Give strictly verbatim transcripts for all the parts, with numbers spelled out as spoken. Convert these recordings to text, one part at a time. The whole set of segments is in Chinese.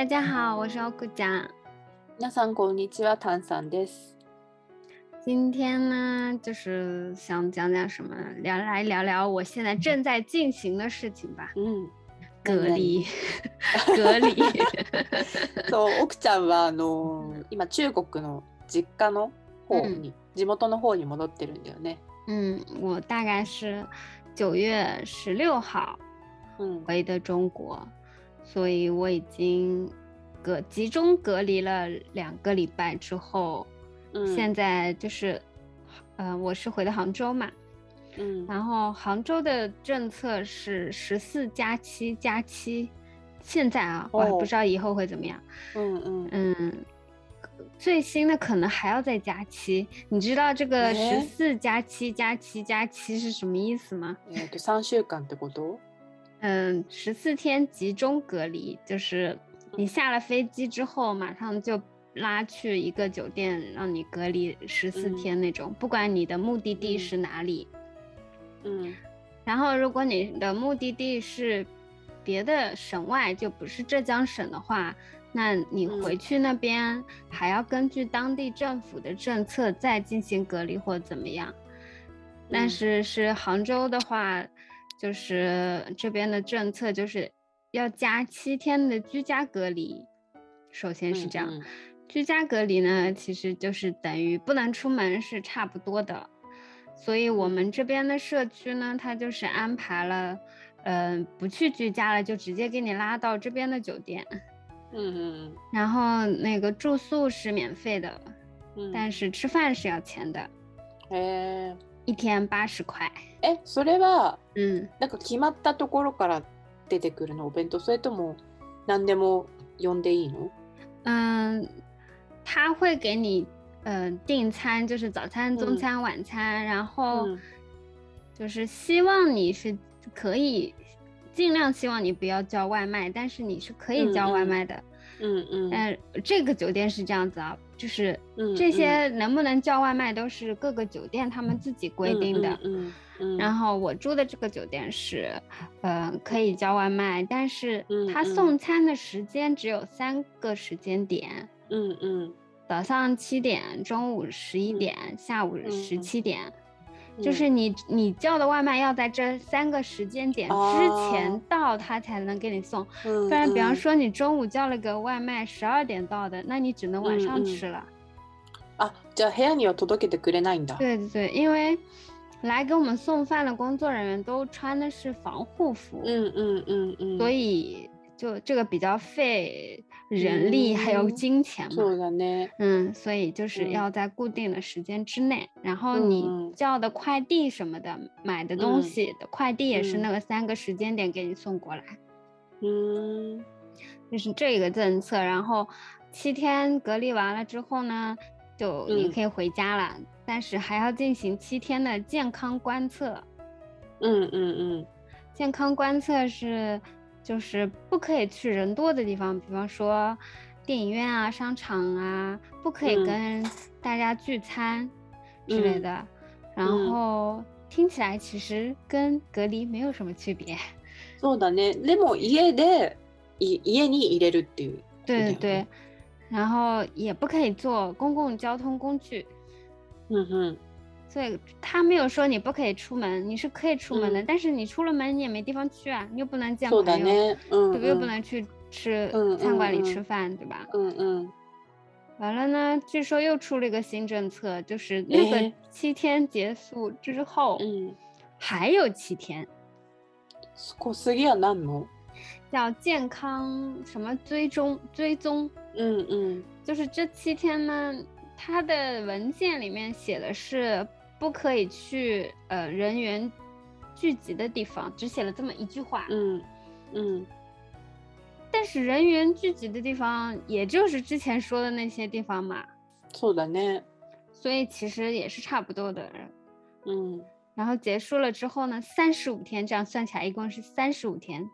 家好，我是欧库酱。 皆さんこんにちは、炭酸です。 今天呢，就是想讲讲什么，聊来聊聊我现在正在进行的事情吧。 嗯， 隔離隔離そう、奥ちゃんはあのー、今中国の実家の方に、嗯、地元の方に戻ってるんだよね。 嗯，我大概是九月十六号回的中国，嗯、所以我已经隔集中隔离了两个礼拜之后，嗯、现在就是，呃，我是回的杭州嘛。嗯，然后杭州的政策是十四加七加七，现在啊，我还不知道以后会怎么样。嗯嗯嗯，最新的可能还要再加七。你知道这个十四加七加七加七是什么意思吗？ えっと三週間ってこと？ 嗯，十四天集中隔离，就是你下了飞机之后，马上就拉去一个酒店，让你隔离十四天那种，嗯、不管你的目的地是哪里。嗯，然后如果你的目的地是别的省外，就不是浙江省的话，那你回去那边还要根据当地政府的政策再进行隔离或怎么样。但是是杭州的话，就是这边的政策就是要加七天的居家隔离。首先是这样，嗯嗯、居家隔离呢，其实就是等于不能出门是差不多的。所以我们这边的社区呢，它就是安排了，嗯、呃，不去居家了，就直接给你拉到这边的酒店。嗯嗯。然后那个住宿是免费的，嗯、但是吃饭是要钱的。 へー。 一天八十块。 え、それは、うん、なんか決まったところから出てくるのお弁当、それとも何でも呼んでいいの？ 嗯，他会给你。呃，订餐就是早餐、中餐、嗯、晚餐，然后就是希望你是可以，尽量希望你不要叫外卖，但是你是可以叫外卖的。嗯嗯。呃，这个酒店是这样子啊，就是这些能不能叫外卖都是各个酒店他们自己规定的。嗯 嗯, 嗯, 嗯。然后我住的这个酒店是，呃，可以叫外卖，但是他送餐的时间只有三个时间点。嗯嗯。早上七点，中午十一点，嗯、下午十七点，嗯、就是你你叫的外卖要在这三个时间点之前到，他才能给你送。嗯、不然，比方说你中午叫了个外卖，十二点到的，那你只能晚上吃了。 嗯嗯、啊，じゃあ部屋には届けてくれないんだ。 对对对，因为来给我们送饭的工作人员都穿的是防护服。嗯嗯嗯嗯，所以就这个比较费人力还有金钱嘛， そうだね。 嗯，所以就是要在固定的时间之内，嗯、然后你叫的快递什么的，嗯、买的东西的快递也是那个三个时间点给你送过来，嗯，就是这个政策。然后七天隔离完了之后呢，就你可以回家了，嗯、但是还要进行七天的健康观测。嗯嗯嗯，健康观测是。就是不可以去人多的地方，比方说电影院啊、商场啊，不可以跟大家聚餐之类的。嗯、然后听起来其实跟隔离没有什么区别。 そうだね。でも家で家に入れるっていう。 对对对，然后也不可以坐公共交通工具。嗯哼。所以他没有说你不可以出门，你是可以出门的，嗯、但是你出了门你也没地方去啊，你又不能见朋友，嗯、对吧？又不能去吃、嗯、餐馆里吃饭，嗯、对吧？嗯嗯。完了呢，据说又出了一个新政策，就是那个七天结束之后，嗯，还有七天。 少すぎやなんの？ 叫健康什么追踪追踪？嗯嗯，就是这七天呢，它的文件里面写的是。不可以去呃人员聚集的地方，只写了这么一句话。嗯嗯。但是人员聚集的地方，也就是之前说的那些地方嘛。 そうだね。 所以其实也是差不多的。嗯。然后结束了之后呢，三十五天，这样算起来一共是三十五天。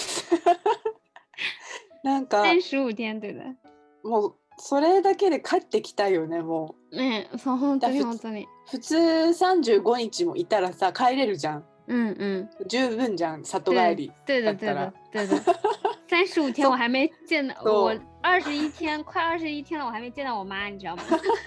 なんか。 三十五天，对的。 もう。それだけで帰ってきたいよね、もう。ね、そう本当に本当に。 普通さんじゅうごにちもいたらさ帰れるじゃん。 うんうん。 十分じゃん、里帰りだったら。 对的对的对的。 三十五天我还没见到そう我二十一天，快二十一天了，我还没见到我妈，你知道吗？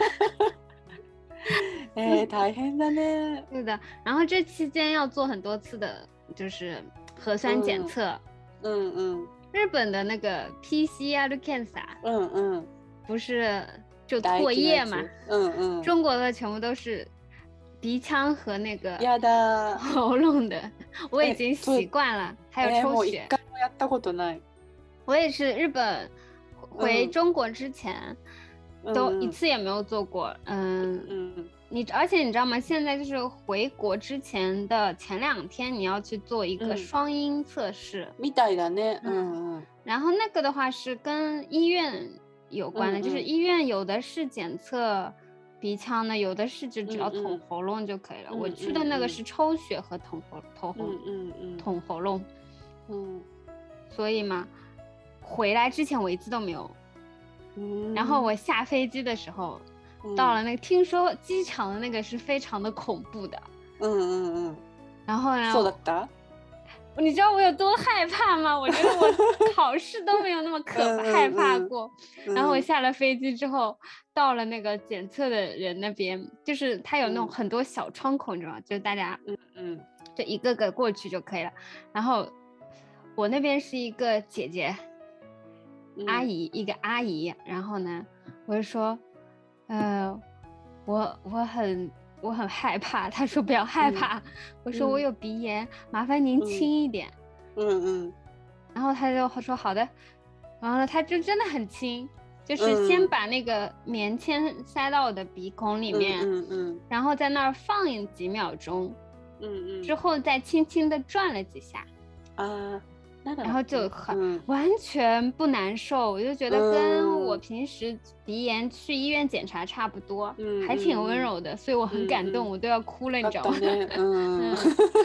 えー、大変だね。 对的，然后这期间要做很多次的，就是核酸检测。 嗯嗯。 日本的那个 P C R 検査， 嗯嗯， 不是就唾液嘛？ 嗯嗯。 中国的全部都是鼻腔和那个やだ喉咙的，我已经习惯了。还有抽血。 えー、もう一回もやったことない。 我也是日本回中国之前、嗯、都一次也没有做过。嗯嗯，你而且你知道吗？现在就是回国之前的前两天，你要去做一个双阴测试。 みたいだね。嗯嗯。 然后那个的话是跟医院有关的，嗯嗯，就是医院有的是检测鼻腔的，有的是就只要捅喉咙就可以了。嗯嗯，我去的那个是抽血和捅喉捅喉嗯嗯捅喉咙。嗯，所以嘛。回来之前我一次都没有、嗯、然后我下飞机的时候、嗯、到了那个听说机场的那个是非常的恐怖的。嗯嗯嗯。然后呢， そうだった？ 你知道我有多害怕吗？我觉得我考试都没有那么可怕害怕过。嗯嗯嗯。然后我下了飞机之后到了那个检测的人那边，就是他有那种很多小窗口，你知道吗？就是大家嗯嗯就一个个过去就可以了。然后我那边是一个姐姐阿姨、嗯、一个阿姨，然后呢我就说呃我我很我很害怕，她说不要害怕、嗯、我说我有鼻炎、嗯、麻烦您轻一点。嗯嗯。然后她就说好的，然后呢她就真的很轻，就是先把那个棉签塞到我的鼻孔里面，嗯 嗯, 嗯然后在那儿放几秒钟，嗯嗯，之后再轻轻的转了几下啊，然后就很、嗯、完全不难受，我就觉得跟我平时鼻炎去医院检查差不多，嗯、还挺温柔的、嗯、所以我很感动、嗯、我都要哭了、嗯、你知道吗？嗯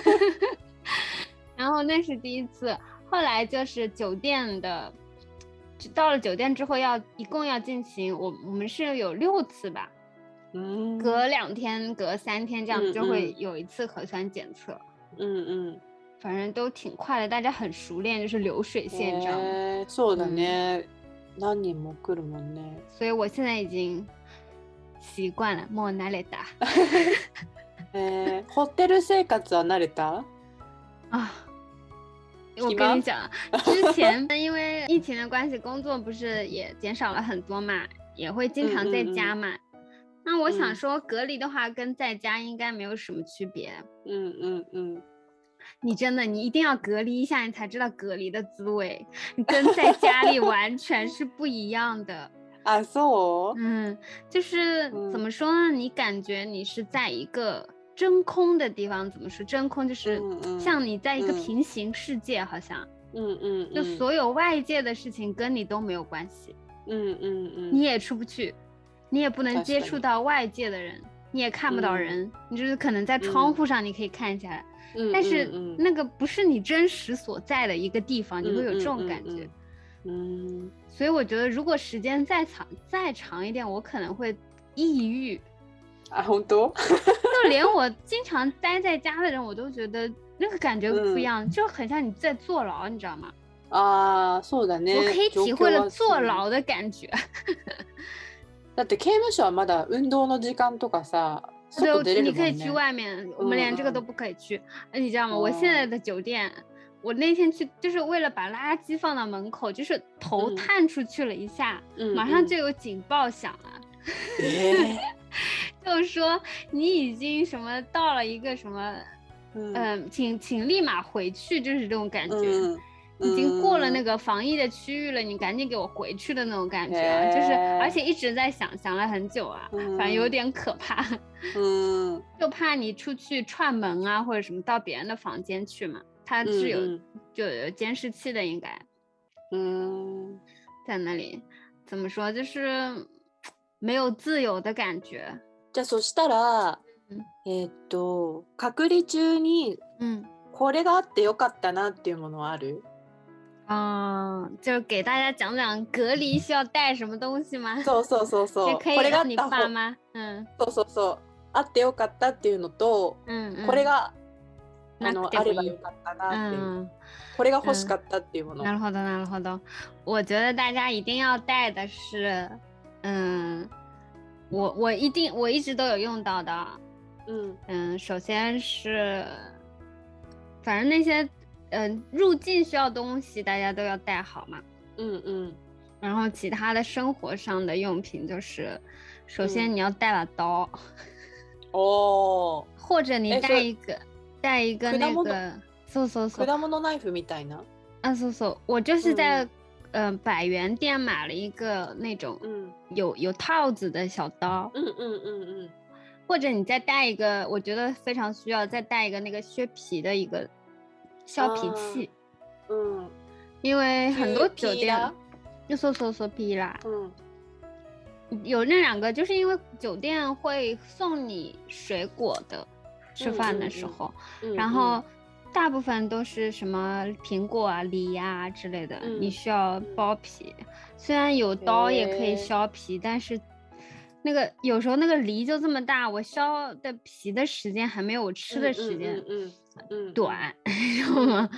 然后那是第一次，后来就是酒店的，到了酒店之后要一共要进行我我们是有六次吧，嗯，隔两天隔三天这样子就会有一次核酸检测。嗯嗯，反正都挺快的，大家很熟练，就是流水线这样。 えー、そうだね、嗯、何人も来るもんね。 所以我现在已经习惯了，もう慣れた。 えー、ホテル生活は慣れた？ 啊，我跟你讲，之前因为疫情的关系，工作不是也减少了很多嘛，也会经常在家嘛。嗯嗯嗯，那我想说，隔离的话跟在家应该没有什么区别。嗯嗯嗯。你真的，你一定要隔离一下，你才知道隔离的滋味，你跟在家里完全是不一样的。 啊，そう？ 嗯，就是怎么说呢？你感觉你是在一个真空的地方，怎么说？真空就是像你在一个平行世界，好像。嗯嗯。就所有外界的事情跟你都没有关系。嗯嗯嗯。你也出不去，你也不能接触到外界的人，你也看不到人，嗯、你就是可能在窗户上你可以看一下。嗯，但是那个不是你真实所在的一个地方，嗯、你会有这种感觉。嗯, 嗯，所以我觉得如果时间再长再长一点，我可能会抑郁。 啊，好多。 就连我经常待在家的人，我都觉得那个感觉不一样，嗯、就很像你在坐牢，你知道吗？ 啊，そうだね。 我可以体会了坐牢的感觉。 だって刑務所はまだ運動の時間とかさ。 对，你可以去外面，我们连这个都不可以去。嗯、你知道吗？我现在的酒店，我那天去就是为了把垃圾放到门口，就是头探出去了一下，嗯、马上就有警报响了。嗯、就是说你已经什么到了一个什么，嗯、呃，请请立马回去，就是这种感觉。嗯，已经过了那个防疫的区域了，你赶紧给我回去的那种感觉啊，就是而且一直在想，想了很久啊，反正有点可怕。嗯，就怕你出去串门啊，或者什么到别人的房间去嘛，它是有、嗯、就有监视器的，应该。嗯，在那里怎么说，就是没有自由的感觉。 じゃあそしたら、嗯、えっと隔離中に、嗯、これがあってよかったなっていうものはある？ 啊、嗯，就是给大家讲讲隔離需要帶什麼東西嗎？ そうそうそうそう。 可以讓你爸媽。 嗯。そうそうそう。あってよかったっていうのと、うんうん、これがあのあればよかったなっていう、 嗯， これが欲しかったっていうもの。 なるほどなるほど。我觉得大家一定要带的是，嗯，我我一定我一直都有用到的， 嗯嗯，首先是，反正那些呃入境需要东西大家都要带好嘛。 嗯嗯然后其他的生活上的用品就是，首先你要带把刀， おー、 或者你え带一个带一个那果物个，そうそうそう， 果物ナイフみたいな。 啊そうそう，我就是在嗯、呃百元店买了一个那种嗯有有套子的小刀， 嗯嗯嗯嗯或者你再带一个，我觉得非常需要再带一个那个削皮的一个削皮器， 嗯因为很多酒店ピーラー， 就搜搜搜皮啦， 嗯有那两个，就是因为酒店会送你水果的，吃饭的时候， 嗯然后大部分都是什么苹果啊、梨呀、之类的， 嗯你需要剥皮。虽然有刀也可以削皮，但是那个有时候那个梨就这么大，我削的皮的时间还没有我吃的时间嗯嗯短，知道吗？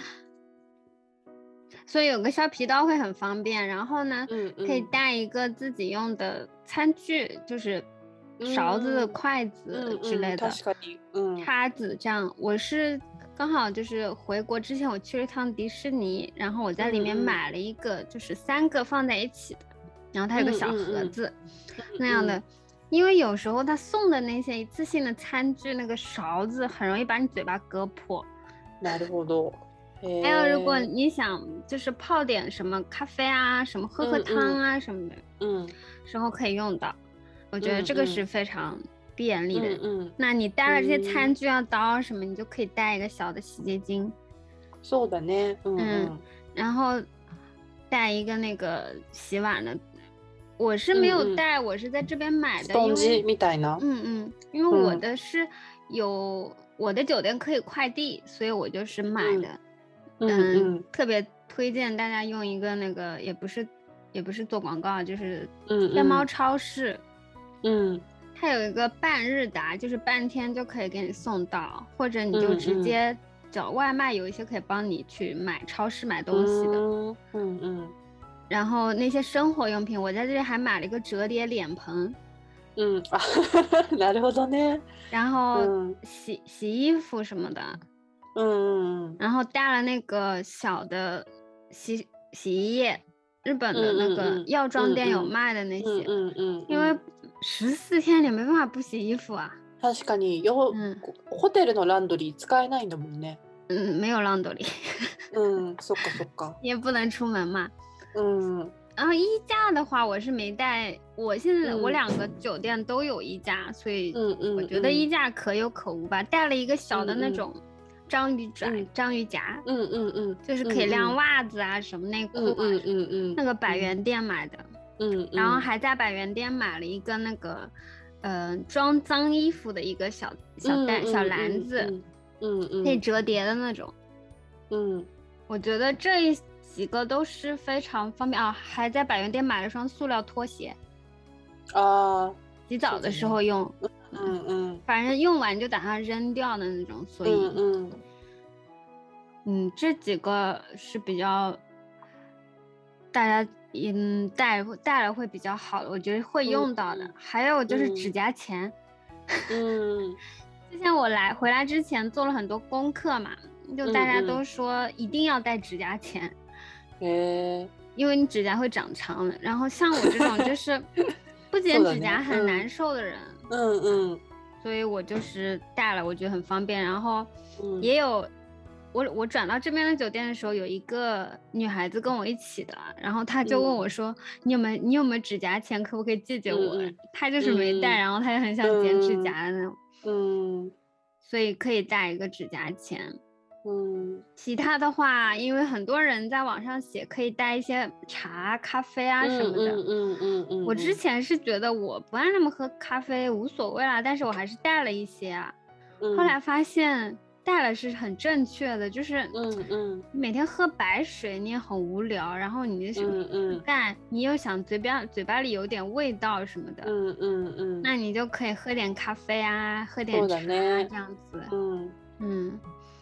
所以有个削皮刀会很方便，然后呢， 嗯嗯可以带一个自己用的餐具，就是勺子、 嗯筷子之类的， 確かに嗯叉子这样。我是刚好就是回国之前，我去了一趟迪士尼，然后我在里面嗯嗯买了一个，就是三个放在一起的，然后它有个小盒子、那样的。因为有时候他送的那些一次性的餐具，那个勺子很容易把你嘴巴割破。 なるほど。 还有，如果你想就是泡点什么咖啡啊，什么喝喝汤啊、嗯、什么的， 嗯， 时候可以用到。我觉得这个是非常便利的。 嗯嗯。 那你带了这些餐具啊、刀什么，你就可以带一个小的洗洁精。 そうだね。嗯嗯。然后带一个那个洗碗的。我是没有带，嗯嗯我是在这边买的。 スポンジみたいな。 嗯嗯，因为我的是有、嗯、我的酒店可以快递，所以我就是买的。 嗯 嗯, 嗯， 特别推荐大家用一个那个，也不是也不是做广告，就是天猫超市。 嗯， 它有一个半日达，就是半天就可以给你送到，或者你就直接找外卖，有一些可以帮你去买超市买东西的。 嗯 嗯, 嗯, 嗯。 然后那些生活用品，我在这里还买了一个折叠脸盆。 嗯啊，なるほどね。 然后洗、嗯、洗衣服什么的。 嗯嗯嗯。 然后带了那个小的洗洗衣液，日本的那个药妆店有卖的那些。 嗯嗯 嗯, 嗯。 因为十四天你没办法不洗衣服啊。 確かによ、嗯、ホテルのランドリー使えないんだもんね。 嗯，没有ランドリー。 嗯，そっかそっか。 也不能出门嘛。 嗯。 然后衣架的话，我是没带。我现在、嗯、我两个酒店都有衣架，所以我觉得衣架可有可无吧。带了一个小的那种章鱼爪、嗯、章鱼夹， 嗯嗯嗯， 就是可以晾袜子啊、嗯、什么内裤啊， 嗯嗯嗯， 那个百元店买的。 嗯，嗯然后还在百元店买了一个那个，呃，装脏衣服的一个小小袋、嗯、小篮子， 嗯 嗯, 嗯， 可以折叠的那种。 嗯， 我觉得这一几个都是非常方便啊。还在百元店买了双塑料拖鞋。 啊， 洗澡的时候用。 嗯 嗯, 嗯， 反正用完就打算扔掉的那种，所以嗯嗯嗯，这几个是比较大家嗯带带了会比较好的，我觉得会用到的。嗯、还有就是指甲钳。 嗯， 之前我来回来之前做了很多功课嘛，就大家都说一定要带指甲钳。 嗯嗯、 因为你指甲会长长的。然后像我这种就是不剪指甲很难受的人。 嗯嗯， 所以我就是带了，我觉得很方便。然后也有、嗯、我我转到这边的酒店的时候，有一个女孩子跟我一起的，然后她就问我说、嗯、你有没有你有没有指甲钳，可不可以借借我、嗯、她就是没带、嗯、然后她也很想剪指甲的那种。 嗯， 所以可以带一个指甲钳。 嗯， 其他的话，因为很多人在网上写可以带一些茶、咖啡啊什么的。 嗯嗯嗯 嗯, 嗯。 我之前是觉得我不按那么喝咖啡无所谓啦，但是我还是带了一些啊。 嗯、 后来发现带了是很正确的，就是嗯嗯， 每天喝白水你也很无聊，然后你什么不干，你又想嘴边嘴巴里有点味道什么的。 嗯嗯嗯， 那你就可以喝点咖啡啊，喝点茶啊这样子。 嗯嗯。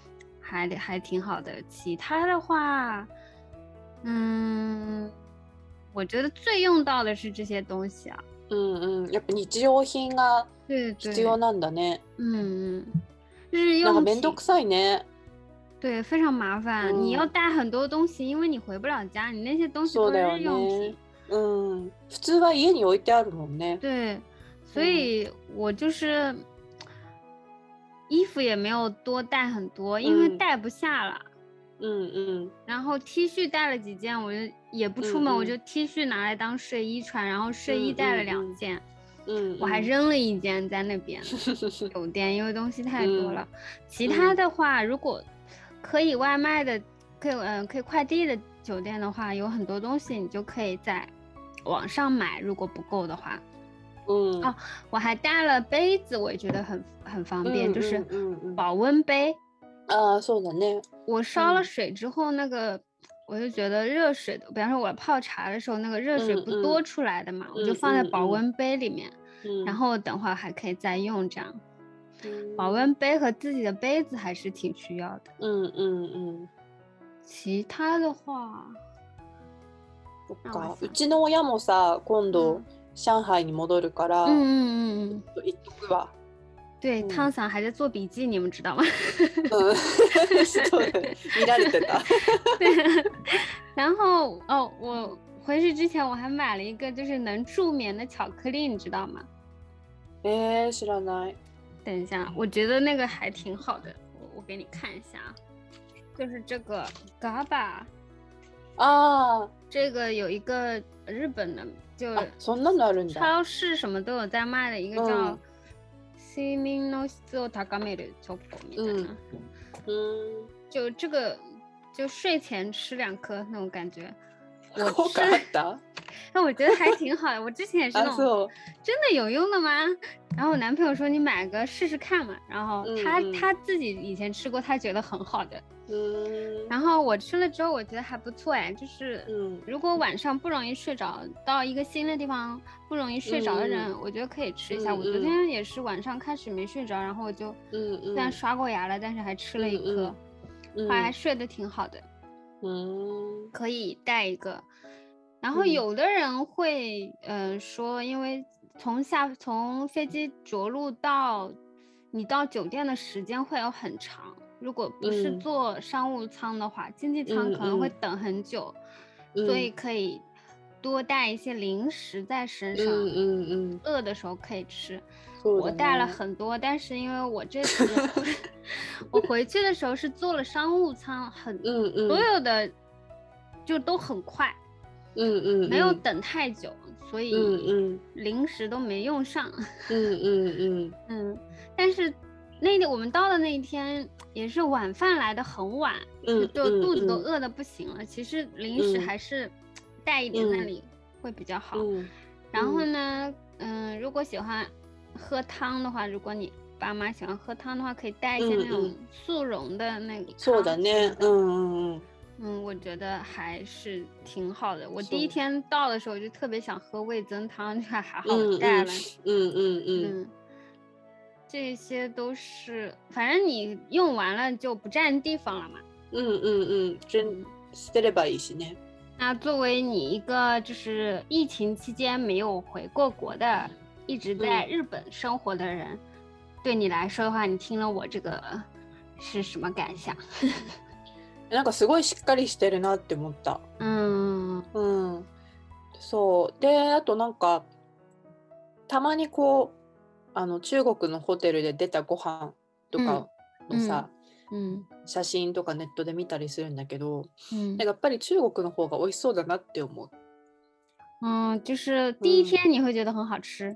还还挺好的。其他的话，嗯，我觉得最用到的是这些东西啊。 うんうん、やっぱ日用品が对必要对， なんだね。 嗯嗯，日なんか用品。 めんどくさいね。 对，非常麻烦，你要嗯， 带很多东西，因为你回不了家，你那些东西そうだよ都是日用ね。 品。 うん、普通は家に置いてあるもんね。 对，所以我就是衣服也没有多带很多，因为嗯带不下了。 うんうん。 然后 T 恤带了几件，我就也不出门， 嗯嗯我就 T 恤拿来当睡衣穿，然后睡衣嗯带了嗯嗯两件， 嗯， 我还嗯扔了一件在那边酒店，因为东西太多了。其他嗯的话，如果可以外卖的，可以嗯、呃可以快递的酒店的话，有很多东西你就可以在网上买，如果不够的话。 嗯哦，我还带了杯子，我也觉得很很方便， 嗯就是嗯嗯嗯保温杯。 ああ、そうだね。 我烧了嗯水之后，那个我就觉得热水的，比方说我泡茶的时候，那个热水嗯嗯不多出来的嘛，我就嗯放在嗯嗯保温杯里面，然嗯后等会儿还可以再用。这样，保嗯温杯和自己的杯子还是挺需要的。 うんうんうん。 其他的话， そっ让我か。う想ちの親もさ、今度嗯上海に戻るから、 嗯嗯嗯嗯， 言っとくわ。 对， 嗯汤桑还在做笔记，你们知道吗？ うん。そうだね。見られてた。 对，然后哦，我回去之前我还买了一个就是能助眠的巧克力，你知道吗？ えー、知らない。 等一下，我觉得那个还挺好的，我我给你看一下啊，就是这个 G A B A， あ这个有一个日本的，就あ、あ、そんなのあるんだ。 超市什么都有在卖的一个叫嗯睡眠の質を高めるチョコみたいな， うん。 就这个就睡前吃两颗那种感觉。我効吃果あった那我觉得还挺好的。我之前也是那あ、 种そう。 真的有用的吗？然后我男朋友说你买个试试看嘛，然后他、 嗯嗯他自己以前吃过，他觉得很好的。 うん。 然后我吃了之后，我觉得还不错哎，就是嗯如果晚上不容易睡着，到一个新的地方不容易睡着的人， 嗯我觉得可以吃一下。 嗯我昨天也是晚上开始没睡着，然后我就嗯虽然嗯刷过牙了，但是还吃了一颗， 嗯后来还睡得挺好的。 嗯可以带一个。然后嗯有的人会，呃，说，因为从下从飞机着陆到你到酒店的时间会有很长，如果不是嗯坐商务舱的话，经济舱嗯可能会嗯等很久， 嗯所以可以多带一些零食在身上， 嗯嗯嗯， 饿的时候可以吃。 そうだ我带了ね。 很多，但是因为我这次我回去的时候是坐了商务舱，很嗯嗯所有的就都很快， 嗯嗯， 没有等太久，所嗯以嗯零食都没用上。 嗯嗯嗯嗯，但是那天我们到的那一天也是晚饭来的很晚， 嗯就肚子都嗯饿得不行了。其实零食嗯还是带一点那嗯里会比较好。 嗯然后呢，嗯，如果喜欢喝汤的话，如果你爸妈喜欢喝汤的话，可以带一些嗯那种嗯速溶的那个そうだ汤什么ね。 的。 うんうんうん。 嗯，我觉得还是挺好的。我是第一天到的时候就特别想喝味增汤，就还好嗯我带了。 嗯嗯嗯嗯，这些都是，反正你用完了就不占地方了嘛。 うんうんうん。真捨てればいいしね。 那作为你一个就是疫情期间没有回过国的，一直在日本生活的人，对你来说的话，你听了我这个是什么感想？ なんかすごいしっかりしてるなって思った。 嗯うん。そうで、あとなんかたまにこうあの中国のホテルで出たご飯とかのさ、 嗯写真とかネットで見たりするんだけど、 嗯なんかやっぱり中国の方が美味しそうだなって思う。 嗯，就是第一天你会觉得很好吃，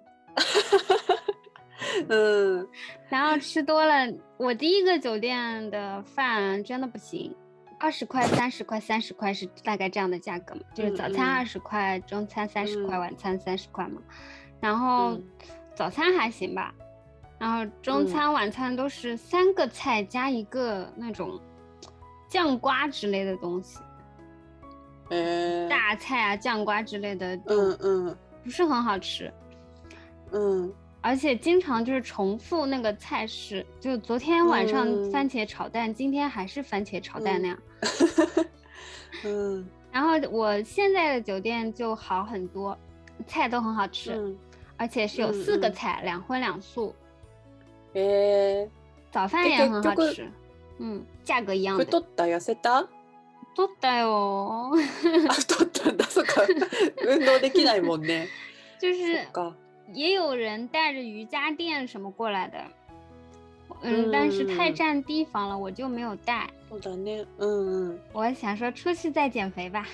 うん。 然后吃多了，我第一个酒店的饭真的不行，二十块、三十块、三十块是大概这样的价格嘛，就是早餐嗯嗯二十块，中餐三十块， 嗯晚餐三十块嘛。然后嗯早餐还行吧，然后中餐、晚餐都是三个菜加一个那种酱瓜之类的东西， えー、 大菜啊、酱瓜之类的う就んうん不是很好吃。 うん。 而且经常就是重复那个菜式，就昨天晚上嗯番茄炒蛋，今天还是番茄炒蛋那样。 うん然后我现在的酒店就好很多，菜都很好吃， うん而且是有四个菜，两荤两素， え早饭也很好吃。嗯，价格一样ー、 的。 太った痩せた？ 太ったよ。 あ、太ったんだ。そっか。運動できないもんね。 就是そっか。 也有人带着瑜伽垫什么过来的，嗯， 嗯但是太占地方了，我就没有带。 そうだね。うんうん。 我想说出去再减肥吧。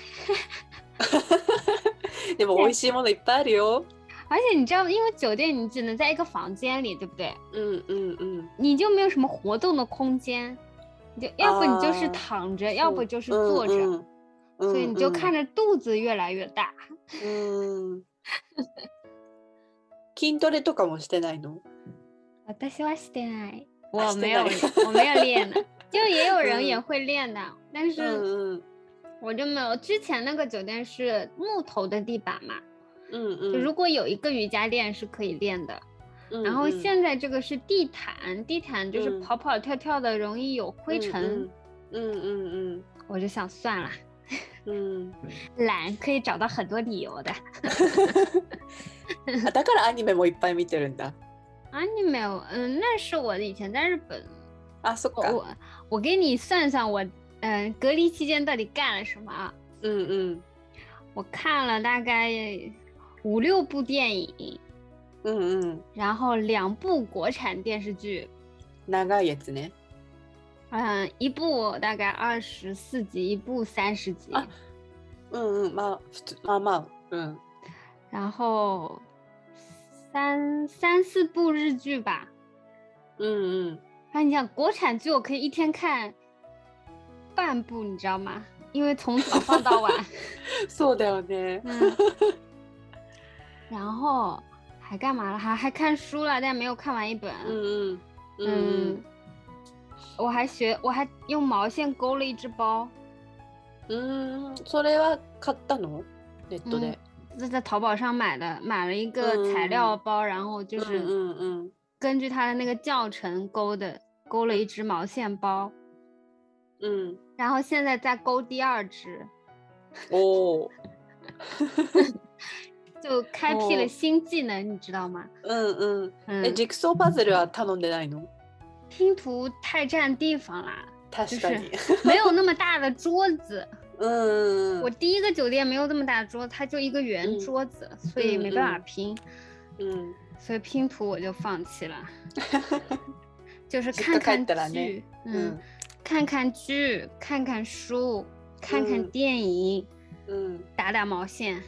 でも美味しいものいっぱいあるよ。 而且你知道，因为酒店你只能在一个房间里，对不对？ うんうんうん。 你就没有什么活动的空间，你就要不你就是啊躺着，要不就是坐着， うんうん、 所以你就看着。 着肚子越来越大。 うん。筋トレとかもしてないの？ 私はしてない。我あ没有， してない我没有练的，就也有人也会练的，但うん是うん我就没有。之前那个酒店是木头的地板嘛， うんうん。 就如果有一个瑜伽垫是可以练的。 うんうん。 然后现在这个是地毯，地毯就是嗯跑跑跳跳的，容易有灰尘。 うんうんうん我就想算了， うん。 懒可以找到很多理由的。 あ、だからアニメもいっぱい見てるんだ。 啊，你没有，嗯，那是我以前在日本。 あ、そっか。 我我我给你算算我，嗯、隔离期间到底干了什么啊？ うんうん。 我看了大概五六部电影， うんうん。 然后两部国产电视剧， 長いやつね。 嗯，一部大概二十四集，一部三十集， あうんうん。まあ普通まあまあ。うん。 然后三三四部日剧吧。 うんうん。 啊，你想国产剧，我可以一天看半部，你知道吗？因为从早放到晚。 そうだよね。 嗯，然后还干嘛了？还还看书了，但没有看完一本。 うんうん。うんうん嗯，我还学，我还用毛线勾了一只包。 うーん、それは買ったの？ネットで。 是在淘宝上买的，买了一个材料包，然后就うん是うんうん。 根据它的那个教程勾的，勾了一只毛线包， うん。 然后现在在勾第二只， おお。 就开辟了新技能，你知道吗？ うんうん。え、 嗯， ジグソーパズルは頼んでないの？ 拼图太占地方啦， 確かに。 没有那么大的桌子。 うん我第一个酒店没有这么大的桌子，它就一个圆嗯桌子，所以没办法拼， うん。 所以拼图我就放弃了。就是実家帰看看ったらね。 剧， う嗯ん。 看看剧，看看书，看看嗯电影， うん。 打打毛线，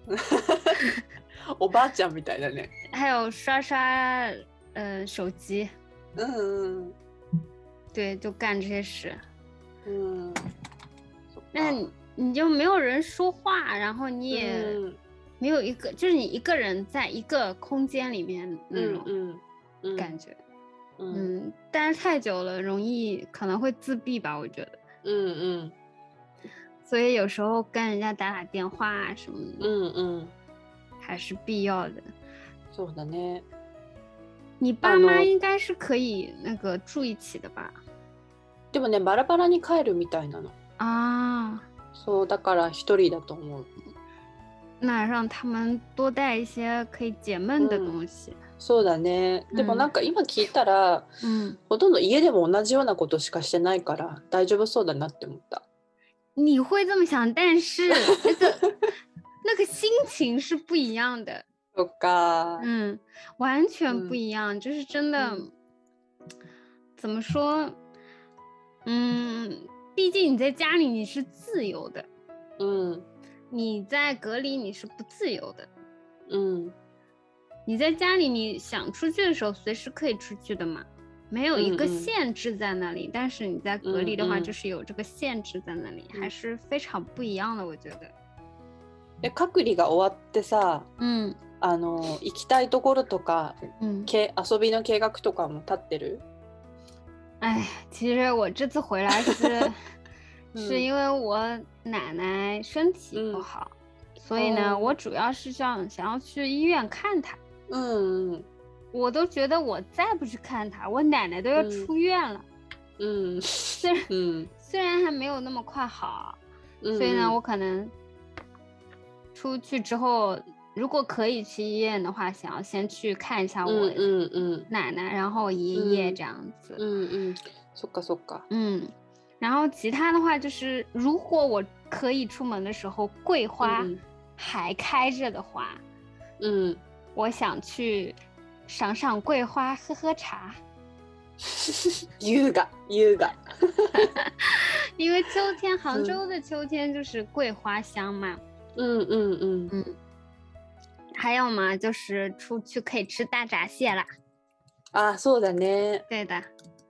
おばあちゃんみたいだね。 还有刷刷呃手机， うんうん。 对，就干这些事。 うん。そっ那か。 你你就没有人说话，然后你也うん没有一个，就是你一个人在一个空间里面那种うんうんうん。 感觉。 うん嗯，待太久了，容易可能会自闭吧，我觉得。 うんうん所以有时候跟人家打打电话啊什么的， うんうん。 还是必要的。 そうだね。 你爸妈あの应该是可以那个住一起的吧？ でもね、バラバラに帰るみたいなの。 啊， そうだから一人だと思う。 那让他们多带一些可以解闷的嗯东西。 そうだね。でもなんか今聞いたら、 嗯， ほとんど家でも同じようなことしかしてないから大丈夫そうだなって思った。 你会这么想，但是那个那个心情是不一样的。 そっか。 嗯，完全嗯不一样，就是真的， 嗯怎么说？嗯，毕竟你在家里你是自由的， うん你在隔离你是不自由的。 うん你在家里你想出去的时候随时可以出去的嘛，没有一个嗯嗯限制在那里。但是你在隔离的话， 嗯嗯就是有这个限制在那里， 嗯还是非常不一样的，我觉得。 で隔離が終わってさ、 嗯あの行きたいところとか嗯， け遊びの計画とかも立ってる？ 哎，其实我这次回来是嗯是因为我奶奶身体不嗯好，所以呢， 哦我主要是想想要去医院看她。 うんうん我都觉得我再不去看他，我奶奶都要出院了。 嗯， 虽然、 嗯、 虽然还没有那么快好， 嗯、 所以呢，我可能出去之后，如果可以去医院的话，想要先去看一下我奶奶，然后爷爷这样子。 嗯嗯，そっかそっか。 嗯，然后其他的话就是，如果我可以出门的时候，桂花还开着的话， 嗯， 我想去赏赏桂花，喝喝茶。 優雅優雅。 因为秋天，杭州的秋天就是桂花香嘛。 嗯嗯嗯嗯。还有嘛，就是出去可以吃大闸蟹啦。 啊，そうだね。 对的。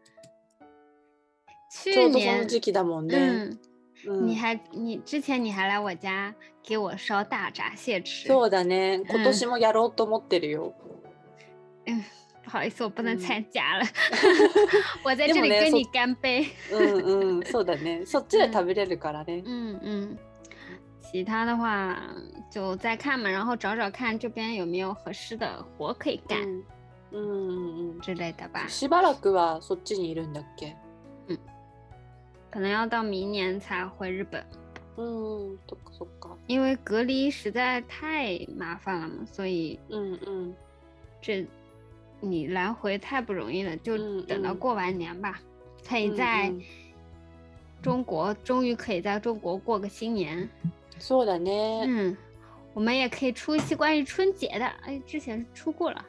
ちょうどその時期だもんね。 嗯。你还你之前你还来我家给我烧大闸蟹吃。 そうだね。今年もやろうと思ってるよ。 嗯。不好意思，我不能参加了。我在这里跟你干杯。 嗯嗯，そうだね。そっちで食べれるからね。 嗯嗯。其他的话就再看嘛，然后找找看这边有没有合适的活可以干。 嗯嗯嗯之类的吧。 しばらくはそっちにいるんだっけ？ 嗯。可能要到明年才回日本。 嗯，そっかそっか。 因为隔离实在太麻烦了嘛，所以嗯嗯， 这。你来回太不容易了，就等到过完年吧，嗯、可以在中国、嗯、终于可以在中国过个新年。 そうだね。 嗯，我们也可以出一期关于春节的，哎，之前出过了。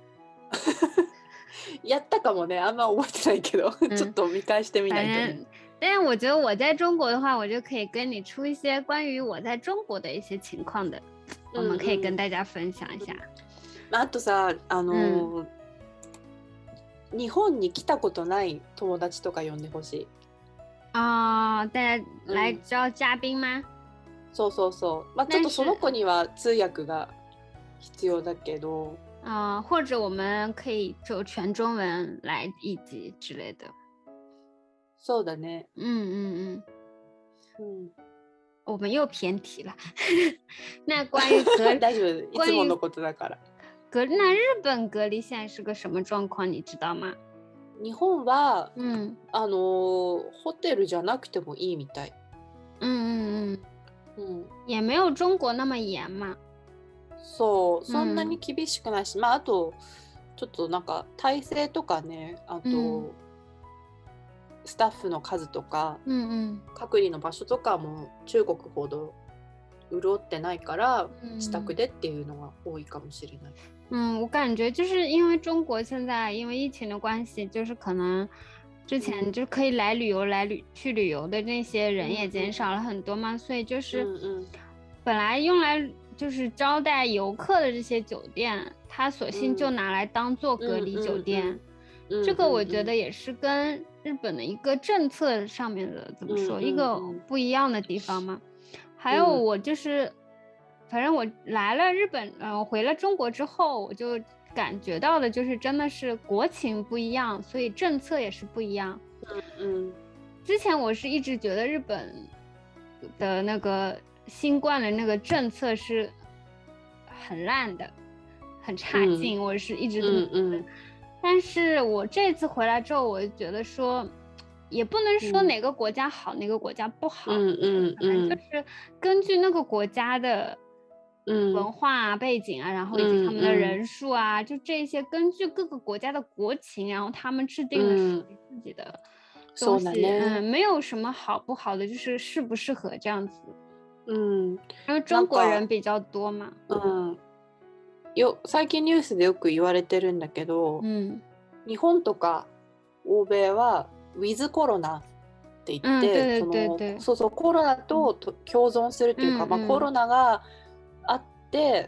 やったかもね、あんま覚えてないけど、ちょっと見返してみないとね。 但是我觉得我在中国的话，我就可以跟你出一些关于我在中国的一些情况的，我们可以跟大家分享一下。 あとさ、あのーうん日本に来たことない友達とか呼んでほしい。 ああ、大家来招嘉賓嗎？ うん、そうそうそう。まあちょっとその子には通訳が必要だけど。 啊，或者我们可以就全中文来一集之类的。 そうだね。 嗯嗯嗯。 嗯。 我们又偏题了。那关于隔大丈夫、いつものことだから。 隔那日本隔離现在是个什么状况，你知道吗？ 日本は、 嗯、 あのホテルじゃなくてもいいみたい。 嗯嗯嗯嗯。 也没有中国那么严嘛。 そう、そんなに厳しくないし、うん、まああとちょっとなんか体制とかね、あと、うん、スタッフの数とか、 うんうん、 隔離の場所とかも中国ほど潤ってないから、自宅でっていうのが多いかもしれない。 嗯，我感觉就是因为中国现在因为疫情的关系，就是可能之前就可以来旅游、嗯、来旅去旅游的那些人也减少了很多嘛，嗯、所以就是本来用来就是招待游客的这些酒店，它索性就拿来当做隔离酒店。嗯嗯嗯、这个我觉得也是跟日本的一个政策上面的怎么说、嗯、一个不一样的地方嘛。还有我就是。嗯反正我来了日本，嗯、呃，回了中国之后，我就感觉到的就是真的是国情不一样，所以政策也是不一样。 嗯嗯。 之前我是一直觉得日本的那个新冠的那个政策是很烂的，很差劲，嗯、我是一直这么觉得。嗯嗯、但是我这次回来之后，我就觉得说。也不能说哪个国家好、嗯、哪个国家不好， 嗯嗯嗯， 就是根据那个国家的文化啊、嗯、背景啊，然后以及他们的人数啊，嗯、就这些根据各个国家的国情，然后他们制定的属于自己的东西，嗯, 嗯，没有什么好不好的，就是适不适合这样子。 嗯， 因为中国人比较多嘛。 嗯，よ最近ニュースでよく言われてるんだけど、 嗯、 日本とか欧米はウィズコロナって言って、 うん、 そのそうそうコロナと共存するというか、うんうんまあ、コロナがあって、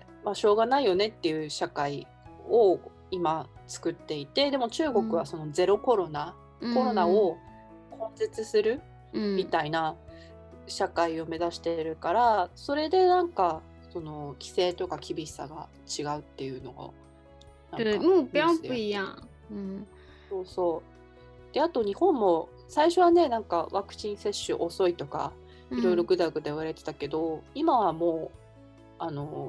まあ、しょうがないよねっていう社会を今作っていて、でも中国はそのゼロコロナ、うん、コロナを根絶するみたいな社会を目指しているから、それでなんかその規制とか厳しさが違うっていうのを对目標不一樣、うん、 そうそうであと日本も最初はねなんかワクチン接種遅いとかいろいろぐだぐだ言われてたけど、うん、今はもうあの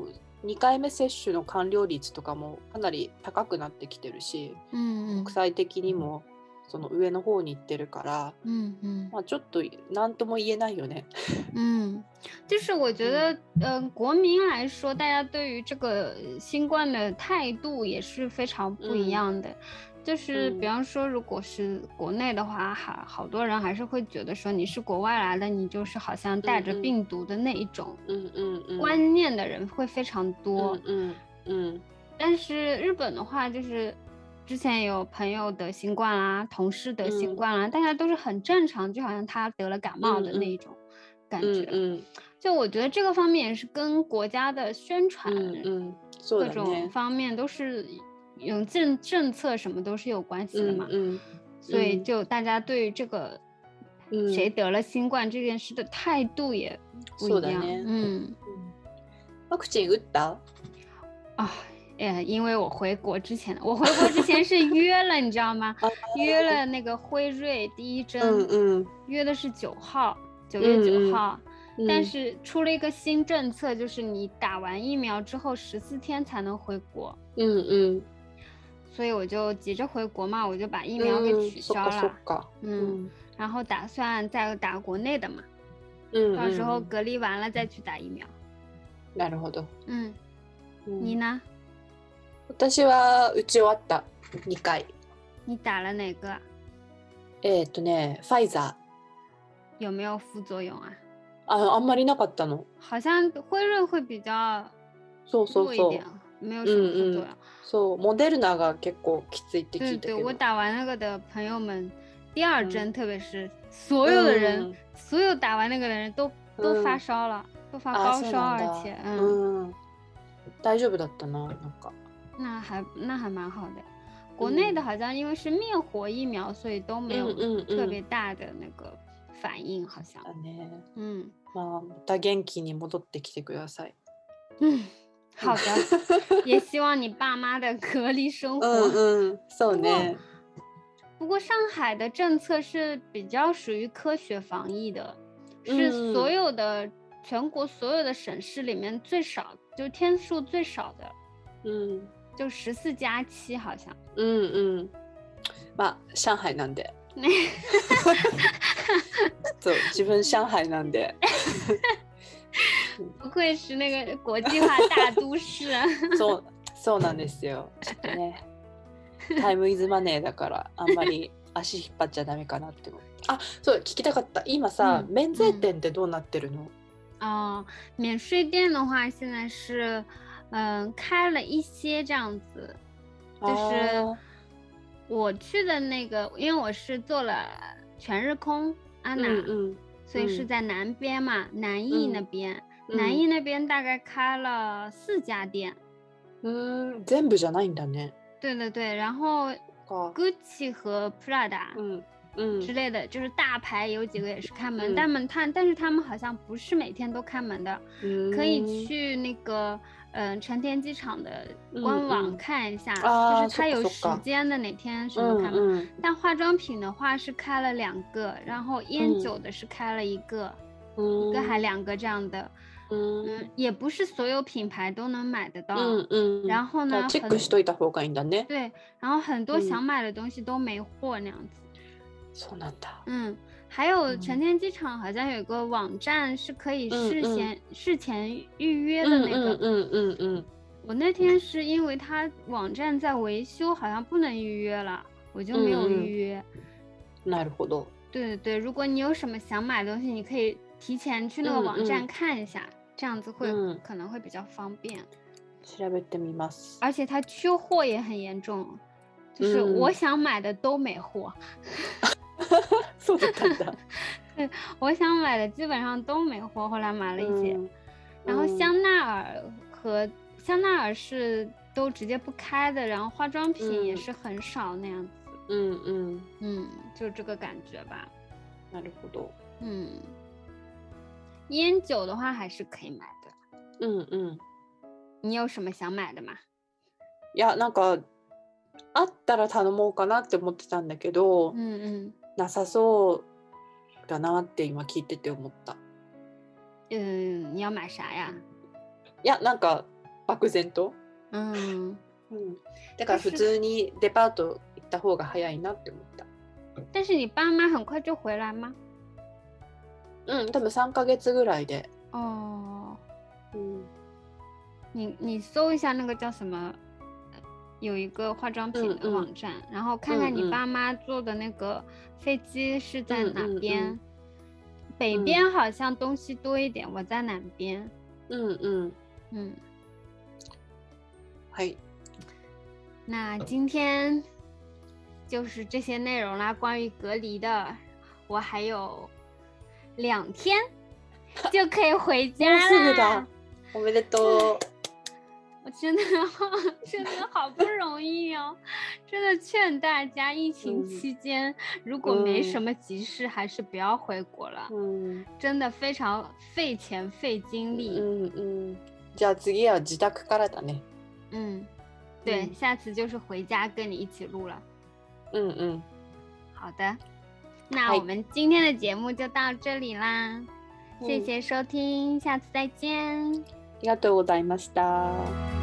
にかいめ接種の完了率とかもかなり高くなってきてるし、 嗯嗯国際的にもその上の方に行ってるから、 嗯嗯まあ、ちょっと何とも言えないよね。 嗯，就是我觉得，嗯、呃，国民来说，大家对于这个新冠的态度也是非常不一样的。就是比方说，如果是国内的话，还好多人还是会觉得说你是国外来的，你就是好像带着病毒的那一种嗯嗯嗯观念的人会非常多。 嗯嗯， 但是日本的话，就是之前有朋友得新冠啦，同事得新冠啦，大家都是很正常，就好像他得了感冒的那一种感觉。 嗯嗯， 就我觉得这个方面也是跟国家的宣传， 嗯嗯， 各种方面都是有政政策什么都是有关系的嘛。 嗯嗯， 所以就大家对于这个谁得了新冠这件事的态度也不一样。嗯， ワクチン打った？ 啊。呃，因为我回国之前，我回国之前是约了，你知道吗？约了那个辉瑞第一针， 嗯嗯， 约的是九号，九月九号。嗯、但是出了一个新政策，就是你打完疫苗之后十四天才能回国。 嗯嗯。 所以我就急着回国嘛，我就把疫苗给取消了。 嗯， 嗯，然后打算再打国内的嘛。 嗯， 到时候隔离完了再去打疫苗。 なるほど。 嗯，你呢？ 私は打ち終わったにかい。 你打了哪个？ えっとね、ファイザー。 有没有副作用啊？ あ、あんまりなかったの。 好像辉瑞会比较弱一点，没有什么副作用。 そう、モデルナが結構きついって聞いたけど。 对对，我打完那个的朋友们，第二针特别是所有的人，所有打完那个的人都都发烧了，都发高烧，而且嗯，大丈夫だったな、なんか。 那还那还蛮好的。国内的好像因为是灭活疫苗，所以都没有特别大的那个反应，好像。 嗯，まあまた元気に戻ってきてください。 嗯，好的，也希望你爸妈的隔离生活。 嗯嗯，そうね。 不过上海的政策是比较属于科学防疫的，是所有的全国所有的省市里面最少，就天数最少的。 嗯。 就十四加七好像。 嗯嗯，まあ上海なんで。そう自分上海なんで。 不愧是那个国际化大都市。 そうそうなんですよ。ちょっとね、タイムイズマネーだからあんまり足引っ張っちゃダメかなって思う。あ、そう聞きたかった。今さ、免税店ってどうなってるの？ 啊，免税店的话，现在是。嗯，开了一些这样子，就是我去的那个，因为我是做了全日空安娜，嗯嗯、所以是在南边嘛，嗯、南艺那边，嗯、南艺那边大概开了四家店。 嗯，全部じゃないんだね。 对对对，然后 Gucci 和 Prada， 嗯嗯之类的，就是大牌有几个也是开门，但们他但是他们好像不是每天都开门的，嗯、可以去那个。嗯，成田机场的官网看一下，嗯嗯、就是它有时间的哪天什么开门。嗯嗯、但化妆品的话是开了两个，然后烟酒的是开了一个，嗯、一个还两个这样的。嗯, 嗯，也不是所有品牌都能买得到。嗯嗯。然后呢， チェックしといた方がいいんだね。 对，然后很多想买的东西都没货那样子。 そうなんだ。 嗯。还有成田机场好像有个网站是可以事先、嗯嗯、事前预约的那个，嗯嗯嗯嗯。我那天是因为它网站在维修，好像不能预约了，我就没有预约。 なるほど。 对对对，如果你有什么想买的东西，你可以提前去那个网站看一下，嗯嗯、这样子会、嗯、可能会比较方便。 調べてみます。 而且它缺货也很严重，就是我想买的都没货。 そうだったんだ。 对，我想买的基本上都没货，后来买了一些。嗯、然后香奈儿和香奈儿是都直接不开的，然后化妆品也是很少那样子。嗯嗯嗯，就这个感觉吧。 なるほど。 嗯，烟酒的话还是可以买的。 嗯嗯。 你有什么想買的吗？ いや、なんかあったら頼もうかなって思ってたんだけど、うんうん、なさそうだなって今聞いてて思った。 嗯，你要买啥呀？ いや、なんか漠然と、 嗯， うん、だから普通にデパート行った方が早いなって思った。 但是你爸妈很快就回来吗？ うん、多分さんかげつぐらいで。 哦， 嗯， 你你搜一下那个叫什么，有一个化妆品的嗯嗯网站，然后看看你嗯嗯爸妈坐的那个飞机是在哪边。 嗯嗯北边好像东西多一点，我在南边。 嗯嗯， 嗯， はい。 那今天就是这些内容啦，关于隔离的，我还有两天就可以回家もうすぐ啦だ。。おめでとう。 我真的真的好不容易哦，真的劝大家，疫情期间、如果没什么急事，还是不要回国了， うん真的非常费钱费精力。 うんうん。じゃあ次は自宅からだね。 嗯，对， 嗯下次就是回家跟你一起录了。 うんうん。 好的，那嗨我们今天的节目就到这里啦， 嗯谢谢收听，下次再见。 ありがとうございました。